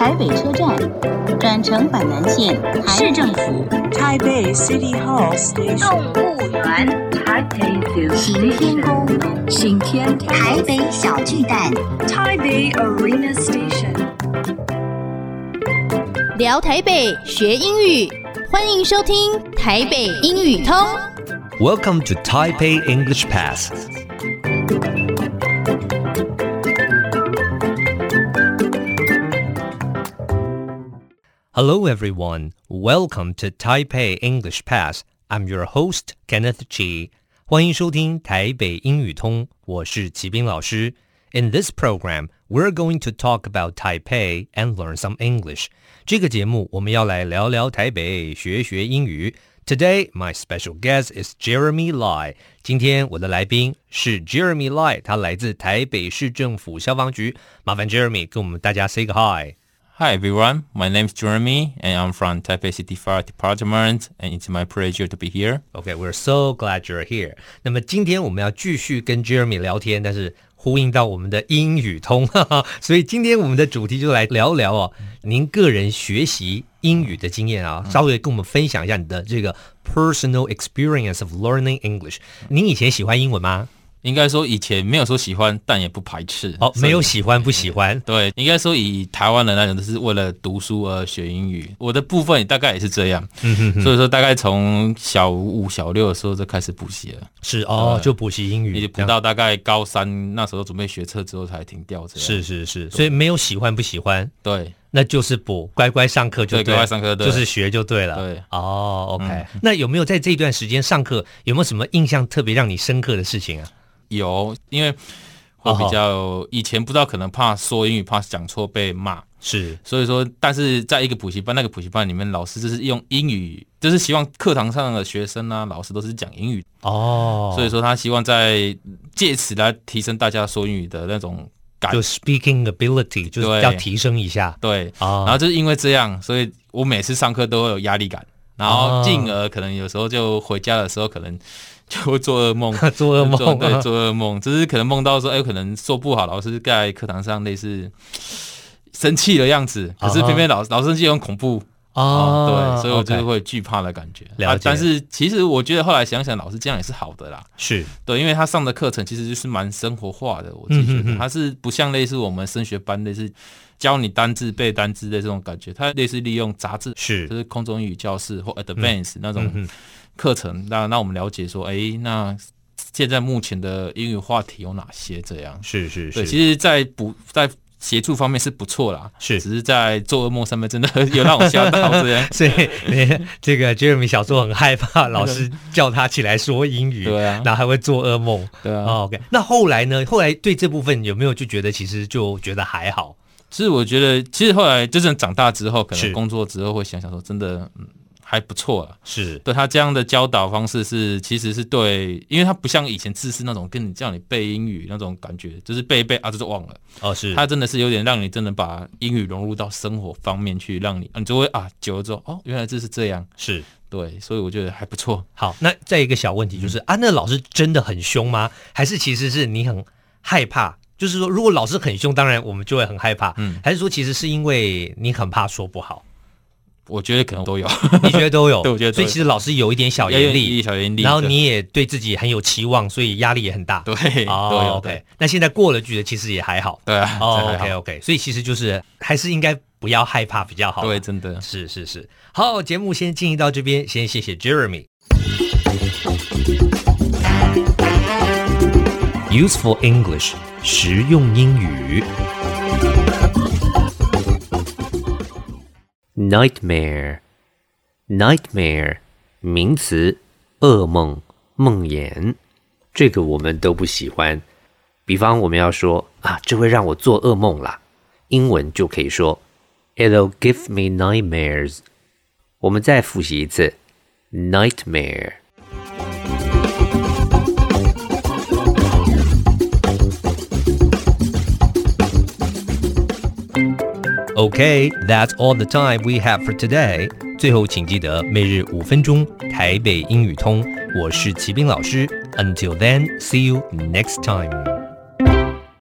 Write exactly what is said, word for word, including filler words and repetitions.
台北車站，轉乘板南線，市政府， 台北 City Hall Station， 動物園，行天宮，行天台北小巨蛋， 台北 Arena Station。 聊台北學英語，歡迎收聽台北英語通。 Welcome to Taipei English Pass. Hello everyone, welcome to Taipei English Pass. I'm your host, Kenneth Chi. 歡迎收聽台北英語通，我是齊斌老師。In this program, we're going to talk about Taipei and learn some English. 這個節目我們要來聊聊台北，學學英語。Today, my special guest is Jeremy Lai. 今天我的來賓是 Jeremy Lai, 他來自台北市政府消防局。麻煩 Jeremy 跟我們大家 say 個 hi.Hi everyone, my name is Jeremy and I'm from Taipei City Fire Department and it's my pleasure to be here. Okay, we're so glad you're here. 那麼今天我們要繼續跟 Jeremy 聊天，但是呼應到我們的英語通，哈哈，所以今天我們的主題就來聊聊哦，您個人學習英語的經驗啊，稍微跟我們分享一下你的這個 personal experience of learning English。您以前喜歡英文嗎？ 應該說以前沒有說喜歡，但也不排斥。 哦，沒有喜歡不喜歡。 對，應該說以台灣的那種，都是為了讀書而學英語。我的部分大概也是這樣，嗯、哼哼所以說大概從小五、小六的時候就開始補習了。 是哦，就補習英語， 也補到大概高三那時候準備學測之後才停掉。這樣是是是，所以沒有喜歡不喜歡。 對。那就是補，乖乖上課就對， 對，乖乖上課，對， 就是學就對了。 對， 哦 ，OK、嗯。那有沒有在這段時間上課，有沒有什麼印象特別讓你深刻的事情啊？ 有，因為我比較、哦、以前不知道，可能怕說英語，怕講錯被罵， 是， 所以說，但是在一個補習班，那個補習班裡面，老師就是用英語，就是希望課堂上的學生啊，老師都是講英語哦， 所以說他希望在借此來提升大家說英語的那種。 就 speaking ability 就是要提升一下， 對，對哦、然後就是因為這樣，所以我每次上課都會有壓力感，然後進而可能有時候就回家的時候可能就會做噩夢， 做噩夢， 對，做噩夢，就是可能夢到說，哎，可能說不好，老師在課堂上類似生氣的樣子，可是偏偏老師老師生氣很恐怖。哦、oh, 對，所以我就會懼怕的感覺。 Okay, 了解、 啊。但是其實我覺得後來想想，老師這樣也是好的啦。 是對，因為他上的課程其實就是蠻生活化的，我自己覺得、嗯、哼哼他是不像類似我們升學班類似教你單字背單字的這種感覺，他類似利用雜誌，是就是空中英語教室或 Advance、嗯、那種課程，讓、嗯、讓我們了解說，哎，那現在目前的英語話題有哪些？這樣是是是。 對，其實在補在。協助方面是不錯啦，是，只是在做噩夢上面真的有讓我嚇到這樣。 所以這個 Jeremy 小時候很害怕老師叫他起來說英語，對啊，然後還會做噩夢，對啊。哦、OK， 那後來呢？後來對這部分有沒有就覺得其實就覺得還好？ 其實我覺得，其實後來真正長大之後，可能工作之後會想想說，真的，嗯。還不錯了，是對他這樣的教導方式是，其實是對，因為他不像以前自私那種跟你叫你背英語那種感覺，就是背一背啊，就是忘了。哦，是，他真的是有點讓你真的把英語融入到生活方面去，讓你，你就會啊，久了之後，哦，原來這是這樣，是對，所以我覺得還不錯。好， 那再一個小問題就是、嗯、啊，那老師真的很兇嗎？還是其實是你很害怕？就是說，如果老師很兇，當然我們就會很害怕。嗯，還是說其實是因為你很怕說不好？ 我覺得可能都有， 你覺得都有？ 對，我覺得都有。 所以其實老師有一點小嚴厲， 小嚴厲， 然後你也對自己很有期望，所以壓力也很大。 對， 哦、 都有。 OK， 對，那現在過了去的，其實也還好。 對啊。 哦 ，OK OK， 所以其實就是還是應該不要害怕比較好。 對，真的是是是。好，節目先進行到這邊，先謝謝 Jeremy。Useful English， 實用英語。Nightmare, nightmare 名詞，噩夢、夢魘，這個我們都不喜歡。比方我們要說啊，這會讓我做噩夢啦，英文就可以說 It'll give me nightmares。我們再複習一次 Nightmare。Okay, that's all the time we have for today. 最後，請記得每日五分鐘台北英語通。我是齊斌老師。Until then, see you next time.